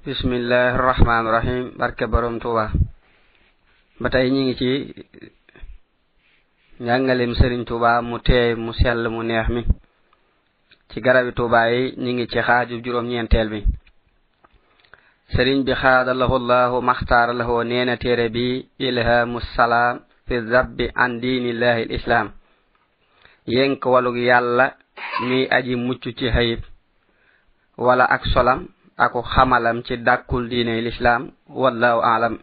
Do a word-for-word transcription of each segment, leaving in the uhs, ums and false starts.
bismillahir rahmanir rahim barke borom Tuuba ba tay ñi ngi ci ñangalem Serigne Touba mu teey mu sell mu neex mi ci garabi Touba yi ñi ngi ci xaaju juroom ñentel bi Serigne bi xaadallahu Allahu maxtaar lahu neena téere bi ilhamus salam fi zabbi an dinillahi alislam yenk walug yalla mi aji muccu ci hayib wala ak solam aku xamalam ci dakul diine l'islam wallahu a'lam.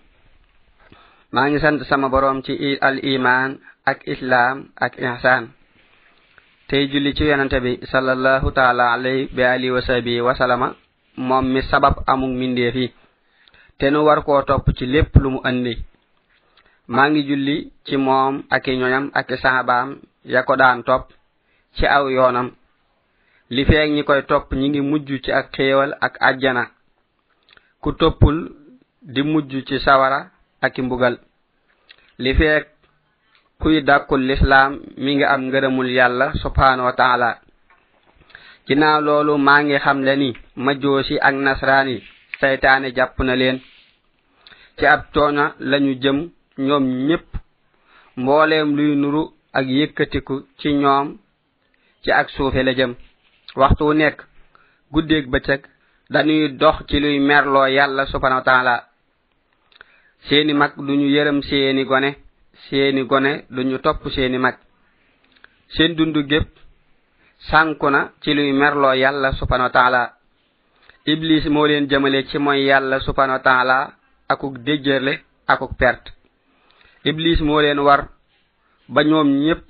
ma ngi sant sama borom ci al iman ak islam ak ihsan tay julli ci yonante bi sallallahu ta'ala alayhi bi alihi wa sahbihi wa sallama mom mi sabab amuk minde fi te nu war ko top ci lepp lu mu andi. ma ngi julli ci mom ak ñoñam ak sahabaam ya ko daan top ci aw yoonam li feek ñi koy top ñi ngi mujju ci ak xéewal ak aljana ku topul di mujju ci sawara ak mbugal li feek kuy dakul l'islam mi ngi am ngërëmul yalla subhanahu wa ta'ala. ginaaw loolu ma ngi xam le ni majoosi ak nasrani saytaane japp na leen ci ab toona lañu jëm ñoom ñepp mbooleem luy nuru ak yëkkatiku ci ñoom ci ak suufe la jëm waxtu wu nekk guddeeg bëccëg dañuy dox ci luy merloo yàlla subhanahu wa ta'ala. seeni mag duñu yërëm seeni gone seeni gone duñu topp seeni mag seen dundu gépp sànku na ci luy merloo yàlla subhanahu wa ta'ala. iblis moo leen jëmale ci mooy yàlla subhanahu wa ta'ala akuk déjjërle akuk perte. iblis moo leen war ba ñoom ñépp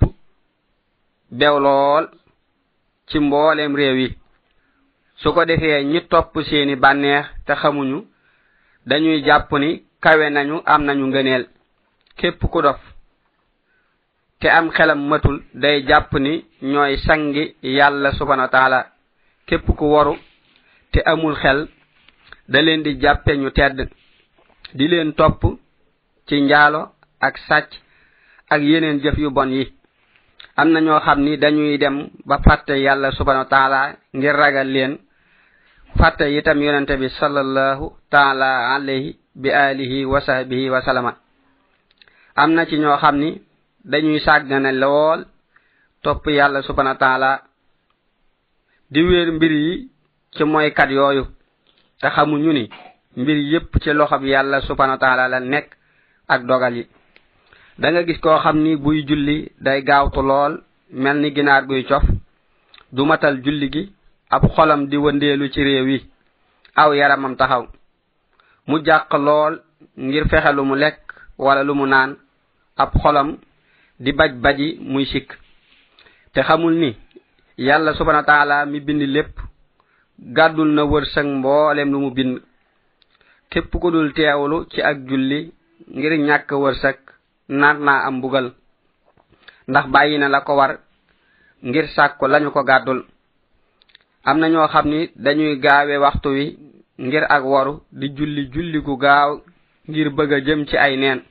bew lool ci mboolem réew yi su ko defee ñi topp seeni bànneex te xamuñu dañuy jàpp ni kawe nañu am nañu ngëneel. képp ku dof te am xelam matul day jàpp ni ñooy sangi yàlla subhanahu wa ta'ala. képp ku waru te amul xel da leen di jàppe ñu tedd di leen topp ci njaalo ak sàcc ak yeneen jëf yu bon yi. am na ñoo xam ni dañuy dem ba fàtte yàlla subhanahu wa ta'ala ngir ragal leen fàtte itam yonente bi sallallahu ta'ala alayhi bi alihi wa sahbihi wa sallama. am na ci ñoo xam ni dañuy sàggane lool topp yàlla subhanahu wa ta'ala di wéer mbir yi ci mooy kat yooyu te xamuñu ni mbir yépp ci loxob yàlla subhanahu wa ta'ala la nekk ak dogal yi. da nga gis koo xam ni buy julli day gaawtu lool mel ni ginaar guy cof du matal julli gi ab xolam di wëndeelu ci réew yi aw yaramam taxaw mu jàq lool ngir fexe lu mu lekk wala lu mu naan ab xolam di baj baji muy sikk te xamul ni yàlla subhanahu wa ta'ala mi bind lépp gàddul na wërsëg mboolem lu mu bind. képp ku dul teewlu ci ak julli ngir ñàkk wërsëg nar naa am mbugal ndax bàyyi na la ko war ngir sàkku lañu ko gàddul. am na ñoo xam ni dañuy gaawe waxtu wi ngir ak waru di julli julli gu gaaw ngir bëgg a jëm ci ay neen.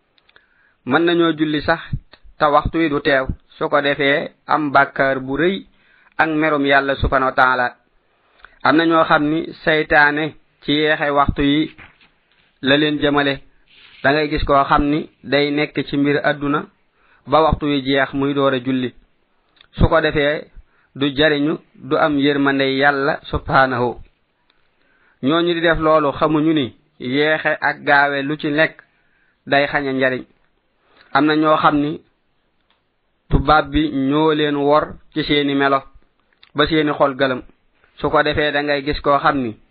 mën nañoo julli sax te waxtu wi du teew su ko defee am bàkkaar bu rëy ak merum yàlla subhanahu wa ta'ala. am na ñoo xam ni saytaane ci yeexe waxtu yi la leen jëmale. da ngay gis koo xam ni day nekk ci mbir àdduna ba waxtu wi jeex muy door a julli su ko defee du jariñu du am yërmande yàlla subhanahu. ñooñu di def loolu xamuñu ni yeexe ak gaawe lu ci nekk day xaña njariñ. am na ñoo xam ni tubaab bi ñoo leen wor ci seeni melo ba seeni xol gëlëm su ko defee da ngay gis koo xam ni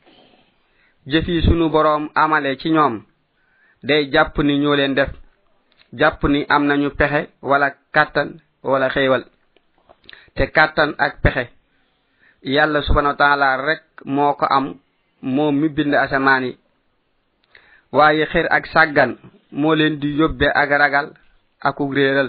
jëf yi sunu boroom amale ci ñoom day jàpp ni ñoo leen def jàpp ni am nañu pexe wala kàttan wala xéewal te kàttan ak pexe yàlla subhanahu wa ta'ala rek moo ko am moom mi bind asamaan yi. waaye xir ak sàggan moo leen di yóbbe ak ragal akuk réeral.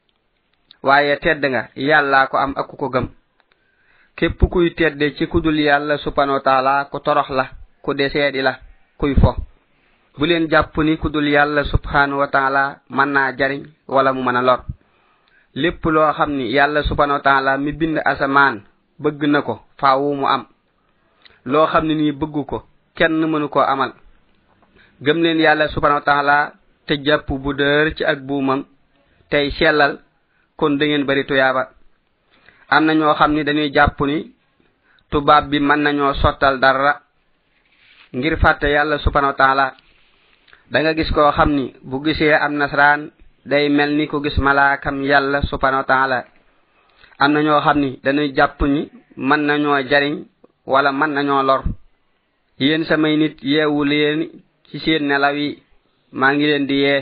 waaye tedd nga yàlla ko am ak ku ko gëm. képp kuy tedde ci kudul yàlla subhanahu wa ta'ala ku torox la ku deseedi la kuy fo. bu leen jàpp ni kudul yàlla subhanahu wa ta'ala mën naa jariñ wala mu mën a lor. lépp loo xam ni yàlla subhanahu wa ta'ala mi bind asamaan bëgg na ko faawu mu am. loo xam ne nii bëggu ko kenn mënu ko amal gëm leen yàlla subhanahu wa ta'ala te jàpp bu dër ci ak buumam tey sellal kon da ngeen bari tuyaaba am na ñoo xam ni dañuy jàpp ni tubaab bi mën nañoo sottal dara ngir fàtte yàlla subhanahu wa ta'ala da nga gis koo xam ni bu gisee am nasraan day mel ni ko gis malaakam yàlla subhanahu wa ta'ala am na ñoo xam ni dañuy jàpp ni mën nañoo jariñ wala mën nañoo lor yéen samay nit yeewu leen ci seen nelaw yi maa ngi leen di yee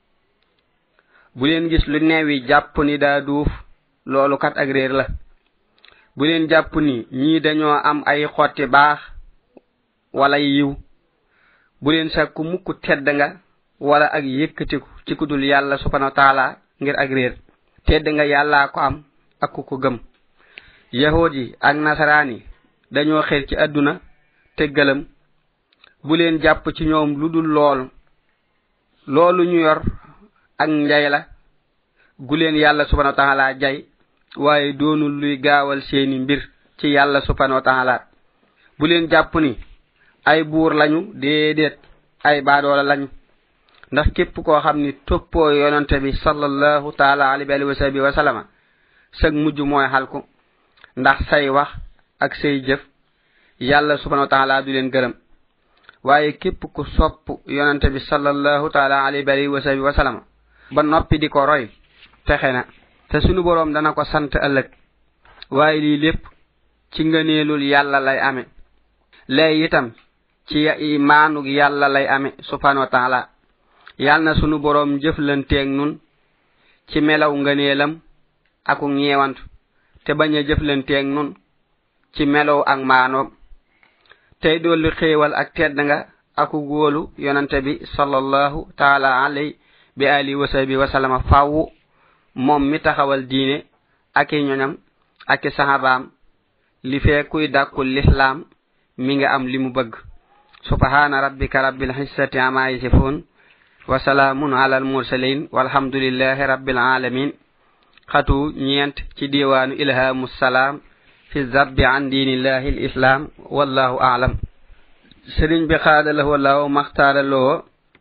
bu leen gis lu neewi jàpp ni daa duuf loolu kat ak réer la bu leen jàpp ni ñii dañoo am ay xotti baax wala yiw bu leen sakku mukk tedd nga wala ak yëkkatiku ci kudul yàlla subhanahu wa ta'ala ngir ak réer tedd nga yàlla ko am ak ku ko gëm yahudi ak nasarani dañoo xel ci aduna te gëlëm bu leen jàpp ci ñoom ludul lool loolu ñu yor ak njay la gu leen yàlla subhanahu wa ta'ala jay waaye doonul luy gaawal seeni mbir ci yàlla subhanahu wa ta'ala bu leen jàpp ni ay buur lañu déedéet ay baadoola lañu ndax képp koo xam ni toppoo yonante bi sallallahu ta'ala alayhi wa sallam wa sallama sag mujj mooy xalku ndax say wax ak say jëf yàlla subhanahu wa ta'ala du leen gërëm waaye képp ku sopp yonante bi sallallahu ta'ala alayhi wa sallam wa sallama ba noppi di ko roy texe na te sunu borom dana ko sant ëllëg waaye lii lépp ci ngëneelul yàlla lay ame lay itam ci imaanug yàlla lay ame subhanahu wa ta'ala yàlla na sunu borom jëflanteeg nun ci melaw ngëneelam ak ñeewant te bañ a jëflanteeg nun ci melaw ak maanoom tey dolli xéewal ak tedd nga ak góolu yonante bi sallallahu ta'ala alayhi bi ali wa sahbi wa sallama faawu moom mi taxawal diine ak ñoñam ak sahabaam li fee kuy dàkkul l'islam mi nga am li mu bëgg subhana rabbika rabbil izzati amma yasifun wa salamun ala al mursalin walhamdulillahi rabbil alamin xatu ñeent ci diwaanu ilhamus salam fi zabbi an dinillahi al islam wallahu a'lam sëriñ bi xaadalahu wallahu maxtaaraloo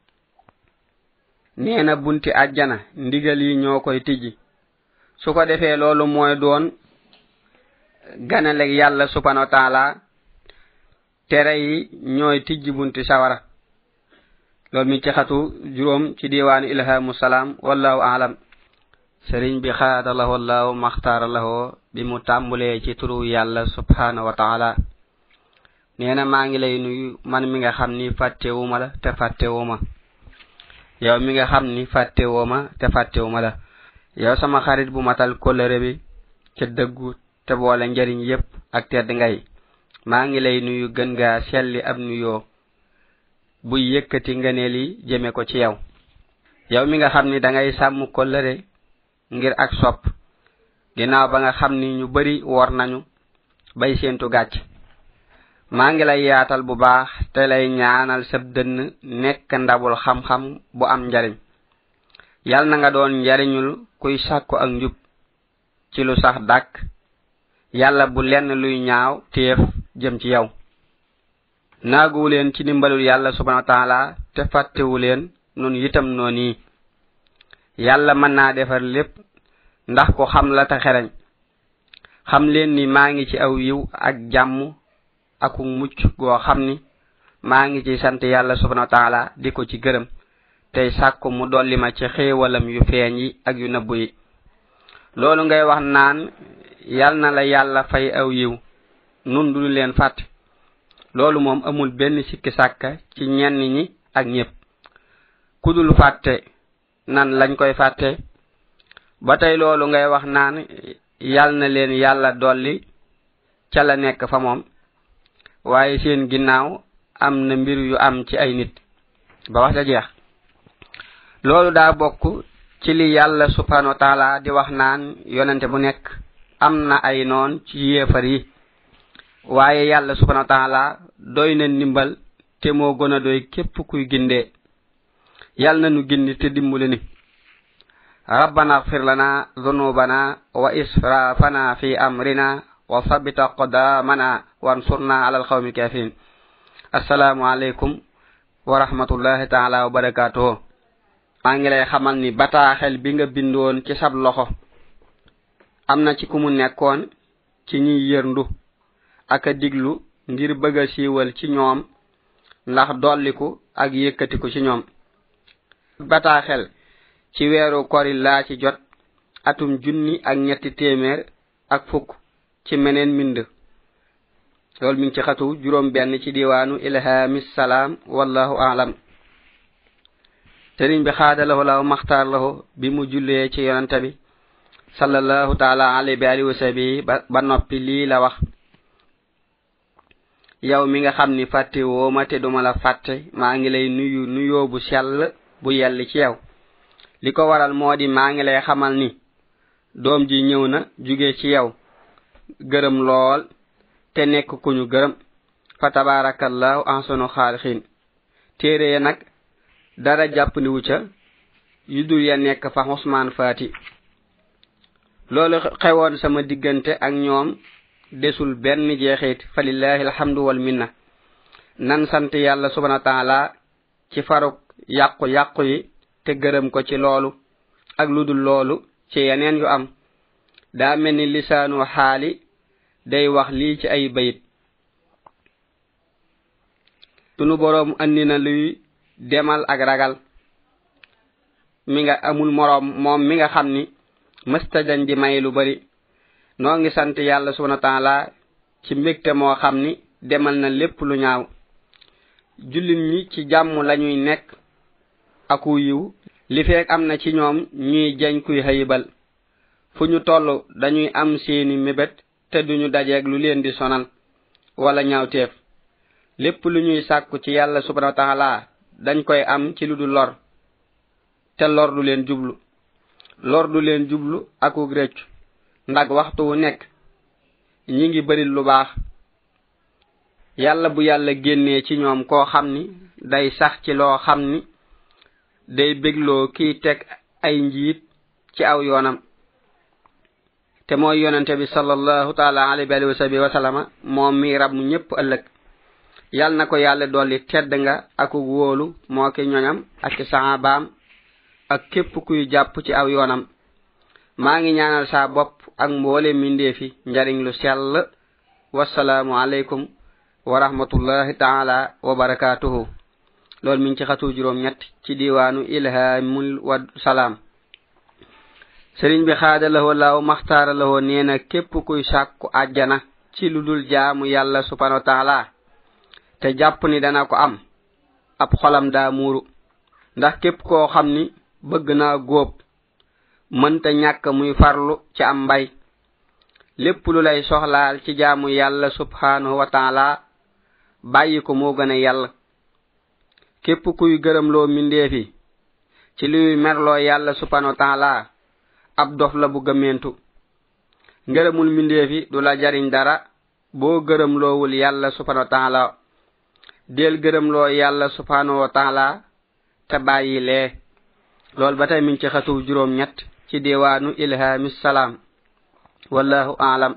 neena bunti aljana ndigal yi ñoo koy tijji su ko defee loolu mooy doon ganale yàlla subhanahu wa ta'ala tere yi ñooy tijji bunti sawara loolu mi ci xatu juróom ci diwaanu ilhamus salam wallahu a'lam sëriñ bi xaadalahu wallahu maxtaaraloo bi mu tàmbulee ci turu yàlla subhanahu wa ta'ala neena maa ngi lay nuyu man mi nga xam ni fàttewuma la te fàttewuma yow mi nga xam ni fàttewuma te fàttewuma la yow sama xarit bu matal kolere bi ci dëggu te boole njariñ yépp ak tedd ngay maa ngi lay nuyu gën nga selli ab nuyoo bu yëkkati ngëneel yi jëme ko ci yow yow mi nga xam ni da ngay sàmm kolere ngir ak sopp ginnaaw ba nga xam ni ñu bari wor nañu bay seentu gàcc maa ngi lay yaatal bu baax te lay ñaanal sab dënn nekk ndabul xam-xam bu am njariñ yal na nga doon njariñul kuy sàkku ak njub ci lu sax dàkk yàlla bu lenn luy ñaaw téef jëm ci yow naaguwu leen ci dimbalul yàlla subhanahu wa ta'ala te fàttewu leen nun itam noonu yàlla mën naa defar lépp ndax ko xam la te xereñ xam leen ni maa ngi ci aw yiw ak jàmm aku mucc goo xam ni maa ngi ci sant yàlla subhanahu wa ta'ala di ko ci gërëm tey sàkku mu dolli ma ci xéewalam yu feeñ yi ak yu nëbbu yi loolu ngay wax naan yal na la yàlla fay aw yiw nun du leen fàtte loolu moom amul benn sikki sàkka ci ñenn ñi ak ñépp ku dul fàtte nan lañ koy fàtte ba tey loolu ngay wax naan yal na leen yàlla dolli ca la nekk fa moom waaye seen ginnaaw am na mbir yu am ci ay nit ba wax ja jeex loolu daa bokk ci li yàlla subhanahu wa ta'ala di wax naan yonente bu nekk am na ay noon ci yéefar yi waaye yàlla subhanahu wa ta'ala doy na ndimbal te moo gën a doy képp kuy gindee yàlla na nu gindi te dimbali ni rabbana ighfir lana dhunubana wa israfana fi amrina wa thabbit aqdamana wansurna ala alqawmi kafirin assalamu alaykum wa rahmatullahi ta'ala wa barakatuh. Ma ngi lay xamal ni bataaxel bi nga bindoon ci sab loxo amna ci ku mu nekkoon ci ñi yërndu ak diglu ngir bëgg siiwal ci ñoom ndax dolliku ak yëkkatiku ci ñoom. bataaxel ci weeru kori laa ci jot atum junni ak ñetti téeméer ak fukk ci meneen mind loolu mi ngi ci xatu juróom benn ci diwaanu ilhamis salaam wallahu a'lam. sëriñ bi xaadalahu law maxtaar lahu bi mu jullee ci yonante bi sallallahu taala alayhi wa alihi wa sahbihi ba noppi lii la wax: yow mi nga xam ni fàtte woo ma te duma la fàtte maa ngi lay nuyu nuyoo bu sell bu yell ci yow. li ko waral moo di maa ngi lay xamal ni doom ji ñëw na jóge ci yow gërëm lool te nekk ku ñu gërëm fa tabarakallahu ahsanu xaalixiin. téere ya nag dara jàppandiwu ca yu dul ya nekk fa Usmaan Faati. loolu xewoon sama diggante ak ñoom desul benn jeexit fa lillahi alhamdu wal minna. nan sant yàlla subhanahu wa ta'ala ci faruk yàqu yàqu yi te gërëm ko ci loolu ak lu dul loolu ci yeneen yu am. daa mel ni lisaanu xaali day wax lii ci ay bayit: sunu boroom andi na luy demal ak ragal mi nga amul moroom moom mi nga xam ni mësta dañ di may lu bari. noo ngi sant yàlla subhanahu wa ta'ala ci mbégte moo xam ni demal na lépp lu ñaaw. jullit ñi ci jàmm lañuy nekk aku yiw li feek am na ci ñoom ñuy jañ kuy xayibal. fu ñu toll dañuy am seeni mébét te duñu dajeeg lu leen di sonal wala ñaawteef. lépp lu ñuy sàkku ci yàlla subhanahu wa ta'ala dañ koy am ci lu du lor te lor du leen jublu. lor du leen jublu akuk réccu ndax waxtu wu nekk ñi ngi bari lu baax. yàlla bu yàlla génnee ci ñoom koo xam ni day sax ci loo xam ni day bégloo kiy teg ay njiit ci aw yoonam te mooy yonente bi sallallahu taala alayhi wa sallam moom mi rab mu ñépp ëllëg. yal na ko yàlla dolli tedd nga aku wóolu moo ki ñoñam ak sahabaam ak képp kuy jàpp ci aw yoonam. maa ngi ñaanal saa bopp ak mboole mindeefi njariñ lu sell. wassalaamu alaykum wa rahmatullahi taala wa barakatuhu. loolu mi ngi ci xatu juróom ñett ci diwaanu ilhamul wa salaam. sëriñ bi xaadalahu law maxtaara lahu nee na képp kuy sàkku àjjana ci lu dul jaamu yàlla subhanahu wa taala te jàpp ni dana ko am ab xolam daa muuru. ndax képp koo xam ni bëgg naa góob mënta ñàkk muy farlu ci am mbay. lépp lu lay soxlaal ci jaamu yàlla subhanahu wa taala bàyyi ko moo gën a yàlla. képp kuy gërëm loo mindeefi ci luy merloo yàlla subhanahu wa taala ab dof la bu gëmmentu. ngërëmul mindeefi du la jariñ dara boo gërëm loowul yàlla subhanahu wa taala. del gërëm loo yàlla subhanahu wa taala te bàyyi lee. loolu ba tey mi ngi ci xatu juróom ñett ci diwaanu ilhamis salaam wallahu a'lam.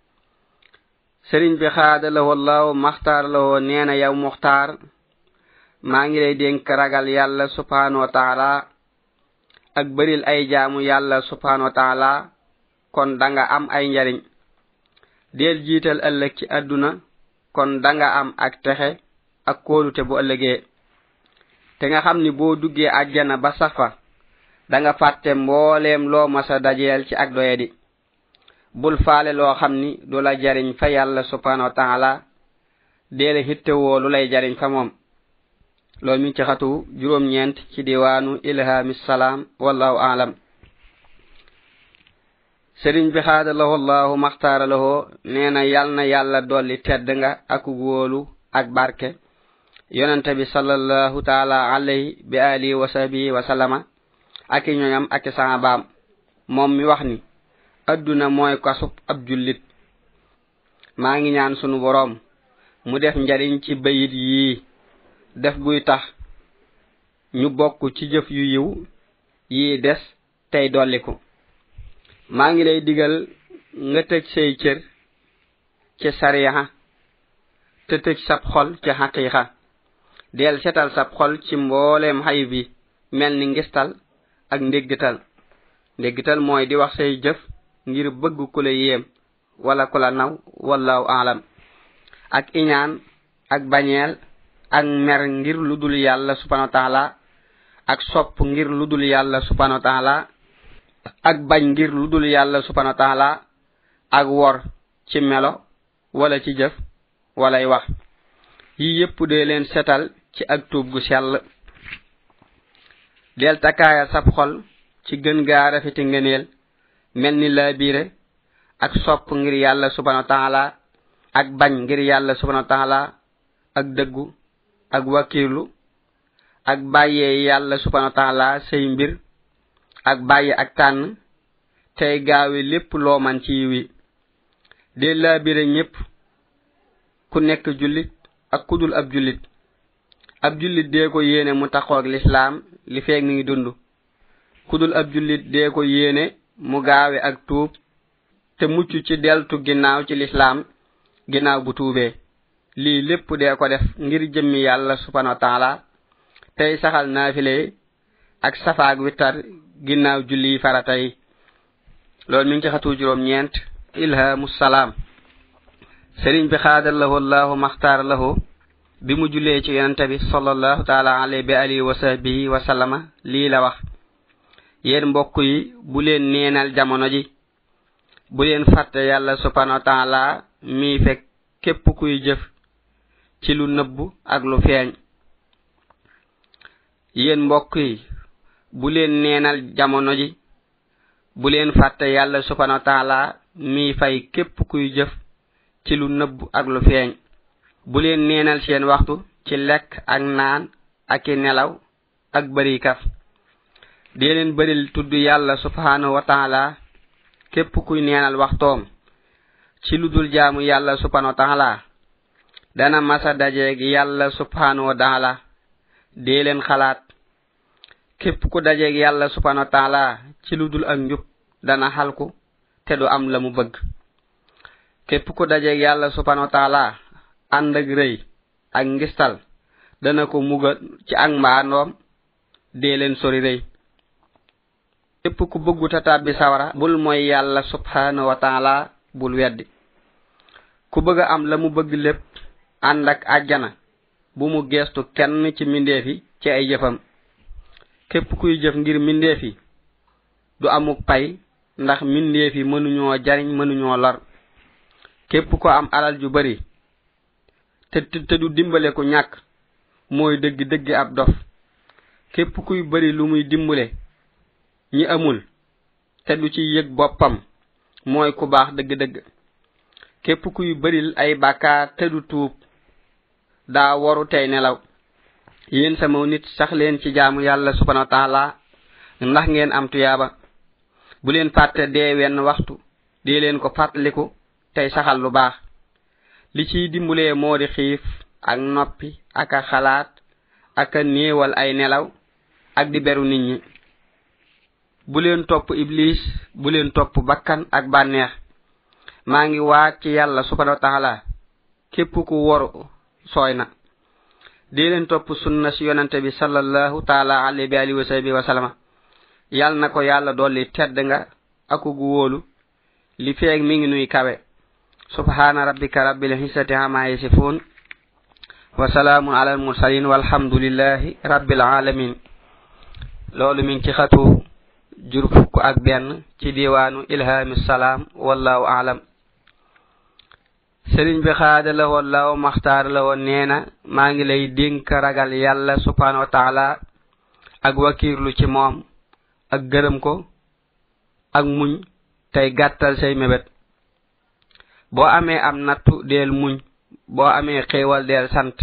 sëriñ bi xaadalahu wallahu maxtaar lahu nee na yow muxtaar maa ngi lay dénk ragal yàlla subhanahu wa taala ak bëril ay jaamu yàlla subhanahu wa taala kon danga am ay njariñ. del jiital ëllëg ci àdduna kon danga am ak texe ak kóolute bu ëllëgee. te nga xam ni boo duggee àjjana ba sax fa danga fàtte mbooleem loo masa dajeel ci ak doyadi. bul faale loo xam ni du la jariñ fa yàlla subhanahu wa taala deele hittewoo lu lay jariñ fa moom. loolu mi ci xatu juróom ñeent ci diwaanu ilhamis salaam wallahu a'lam. sëriñ bi xaadalahu allahu maxtaara lahu nee na yal na yàlla dolli tedd nga ak wóolu ak barke yonente bi sallallahu taala alayhi bi alihi wa sahbihi wa sallama ak ñoñam ak sahabaam. moom mi wax ni adduna mooy kasub ab jullit. maa ngi ñaan sunu boroom mu def njariñ ci bayit yii def guy tax ñu bokk ci jëf yu yiw yi des tey dolliku. maa ngi lay digal nga tëj say cër ci sariya te tëj sab xol ci xaqiiqa. del setal sa xol ci mbolem xayib bi melni ngistal ak ndeggital ndeggital moy di wax say jëf ngir bëgg ku la yem wala ku la naw wallahu a'lam ak iñaan ak bañeel ak mer ngir ludul yalla subhanahu wa ta'ala ak sopp ngir ludul yalla subhanahu wa ta'ala ak bañ ngir ludul yalla subhanahu wa ta'ala ak wor ci melo wala ci jëf walay wax yi yépp de leen setal ci ak tuub gu sell del takaya sab xol ci gën ga rafeti ngeenel melni la biire ak sopp ngir yalla subhanahu wa ta'ala ak bañ ngir yalla subhanahu wa ta'ala ak deggu ak wakirlu ak baye yalla subhanahu wa ta'ala sey mbir ak baye ak tan tay gaawe lepp lo man ci wi de la biire ñepp ku nekk julit ak kudul ab julit ab julit de ko yene mu taxo ak l'islam li feek mi ngi dundu kudul ab julit de ko yene mu gaawe ak tuub te muccu ci deltu ginaaw ci l'islam ginaaw bu tuubé li lepp de ko def ngir jëmmi yalla subhanahu wa ta'ala tay saxal nafilé ak safaak witar ginaaw julli faratay lool mi ngi xatu juroom ñent ilhamus salam serigne bi khadallahu allah makhtar lahu bi mu julé ci yonent bi sallallahu ta'ala alayhi bi alihi wa sahbihi wa sallama li la wax yeen mbokk yi bu len neenal jamono ji bu len fatte yalla subhanahu wa ta'ala mi fek kep kuy jëf ci lu neub ak lu feñ yeen mbokk yi bu len neenal jamono ji bu len fatte yalla subhanahu wa ta'ala mi fay kep kuy jëf ci lu neub ak lu feñ bu len neenal seen waxtu ci lek ak naan ak nelaw ak bari kaf de len baril tuddu yalla subhanahu wa ta'ala kep kuy neenal waxtom ci ludul jaamu yalla subhanahu wa ta'ala dana masa daje ak yalla subhanahu wa ta'ala de len xalaat kep ku daje ak yalla subhanahu wa ta'ala ci ludul ak njub dana halku te du am lamu bëgg kep ku daje ak yalla subhanahu wa ta'ala and ak reey ak ngistal dana ko mugal ci ak mbaandom de len sori reey kep ku bëggu tatabbi sawara bul moy yalla subhanahu wa ta'ala bul weddi ku bëgg am lamu bëgg lepp and ak aljana bu mu gestu kenn ci mindeefi ci ay jëfam kep kuy jëf ngir mindeefi du amuk pay ndax mindeefi mënu ñoo jariñ mënu ñoo lor kep ko am alal ju bari te te du dimbalé ko ñak moy deug deug ab dof kep kuy bari lu muy dimbalé ñi amul te du ci yegg bopam moy ku baax deug deug kep kuy baril ay bakkaar te du tuub da waru tay nelaw yeen sama nit sax leen ci jaamu yalla subhanahu wa ta'ala ndax ngeen am tuyaba bu leen fatte de wenn waxtu de leen ko fatliku tay saxal lu baax li ci dimbulé modi xif ak noppi ak xalaat ak neewal ay nelaw ak di beru nit ñi bu leen top iblis bu leen top bakkan ak banex ma ngi waat ci yalla subhanahu wa ta'ala kep ku wor soyna de leen top sunna ci yonante bi sallallahu ta'ala alayhi wa sahbihi wa sallama yal nako yalla doli tedd nga aku gu wolu li feek mi ngi nuy kawe subhana rabbika rabbil izzati amma yasifun wa salamun alal mursalin walhamdulillahi rabbil alamin lolu mi ngi ci xatu jur fukk ak ben ci diwanu ilhamis salam wallahu a'lam serigne bi khadala wallahu makhtar la won neena ma ngi lay denk ragal yalla subhanahu wa ta'ala ak wakirlu ci mom ak gërem ko ak muñ tay gattal say mebet bo amé am nattu del muñ bo amé xéewal del sant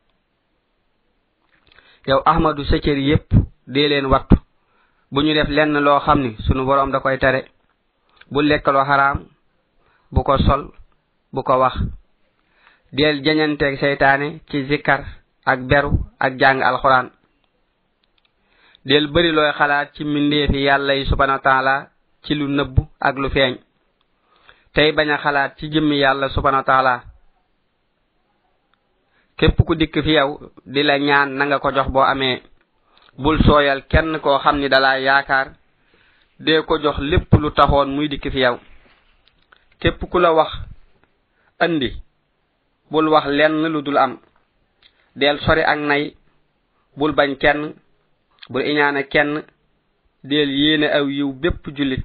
yow ahmadu sekeri yépp de len wattu buñu def lenn lo xamni sunu borom da koy tare bu lek lo haram bu ko sol bu ko wax del jañante ak seytaane ci zikar ak beru ak jang alquran del bari loy xalaat ci mindeefi yalla subhanahu wa ta'ala ci lu neub ak lu feñ tay baña xalaat ci jëmmi yalla subhanahu wa ta'ala képp ku dikk fi yow di la ñaan na nga ko jox boo amee bul sooyal kenn koo xam ni dala yaakaar dee ko jox lépp lu taxoon muy dikk fi yow képp ku la wax andi bul wax lenn lu dul am del sori ak nay bul bañ kenn bul iñaane kenn del yéene aw yiw bépp jullit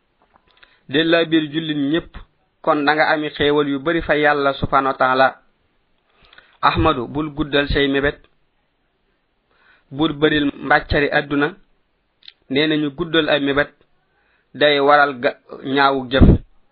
del la biir jullit ñépp kon da nga ami xéewal yu bari fa yàlla subhanahu wa ta'ala ahmadu bul guddal say mébét bul bëril mbàccari àdduna nee nañu guddal ay mébét day waral ñaawu jëf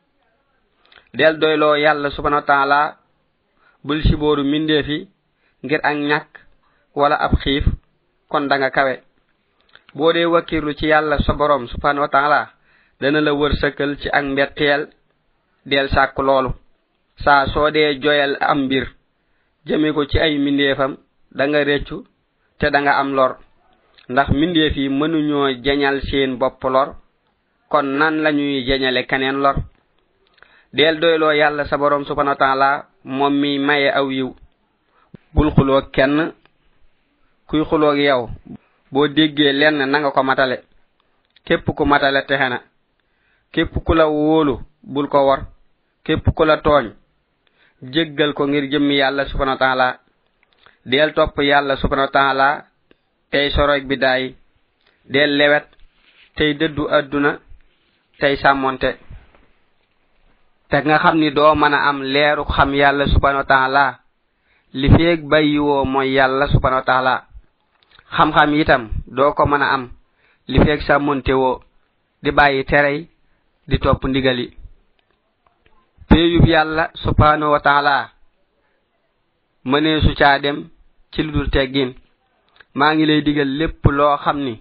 del doyloo yàlla subhanahu wa ta'ala bul sibooru mindeefi ngir ak ñàkk wala ab xiif kon da nga kawe boo dee wakkirlu ci yàlla sa borom subhanahu wa ta'ala dana la wërsëkal ci ak mbetteel del sàkk loolu saa soo dee joyal am mbir jëme ko ci ay mindeefam da nga réccu te da nga am lor ndax mindeef yi mënuñoo jañal seen bopp lor kon nan lañuy jañale keneen lor del doyloo yàlla sa borom subhanahu wa ta'ala moom mi maye aw yiw bul xuloo kenn kuy xuloo ak yow boo déggee lenn na nga ko matale képp ku matale texe na képp ku la wóolu bul ko wor képp ku la tooñ jéggal ko ngir jëmmi yàlla subhanahu wa ta'ala del topp yàlla subhanahu wa ta'ala tey soroy bi daay del lewet tey dëddu àdduna tey sàmmonte te nga xam ni doo mën a am leeru xam yàlla subhanahu wa ta'ala li feeg bàyyiwoo mooy yàlla subhanahu wa ta'ala xam-xam itam doo ko mën a am li feeg sàmmonte woo di bàyyi terey di topp ndigali péeyub yàlla subhanahu wa ta'ala mënee su caa dem ci lu dul teggin maa ngi lay digal lépp loo xam ni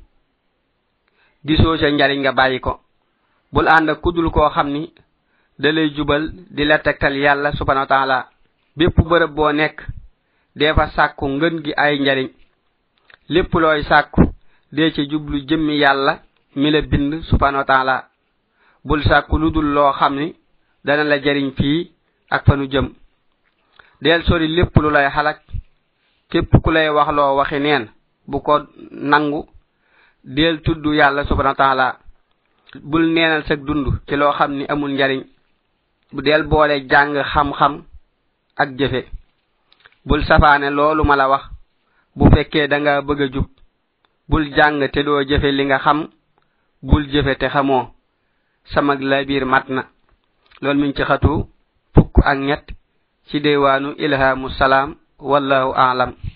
gisoo ca njariñ nga bàyyi ko bul ànd ak kudul koo xam ni da lay jubal di la tegtal yàlla subhanahu wa ta'ala bépp bërëb boo nekk dee fa sàkku ngën gi ay njariñ lépp looy sàkku dee ci jublu jëmmi yàlla mi la bind subhanahu wa ta'ala bul sàkku lu dul loo xam ni dana la jariñ fii ak fanu jëm del sori lépp lu lay xalak képp ku lay wax loo waxi neen bu ko nangu del tudd yàlla subhanahu wa ta'ala bul neenal sag dund ci loo xam ni amul njariñ bu del boole jàng xam-xam ak jëfe bul safaane loolu ma la wax bu fekkee da nga bëgg a jub bul jàng te doo jëfe li nga xam bul jëfe te xamoo samag la biir mat na loolu mi ngi ci xatu fukk ak ñett ci deewaanu ilhamu salaam wallahu a'lam